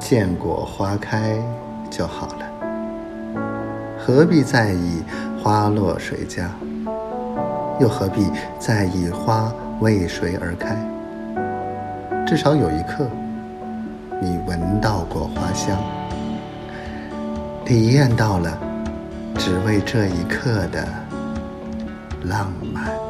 见过花开就好了，何必在意花落谁家，又何必在意花为谁而开？至少有一刻，你闻到过花香，体验到了只为这一刻的浪漫。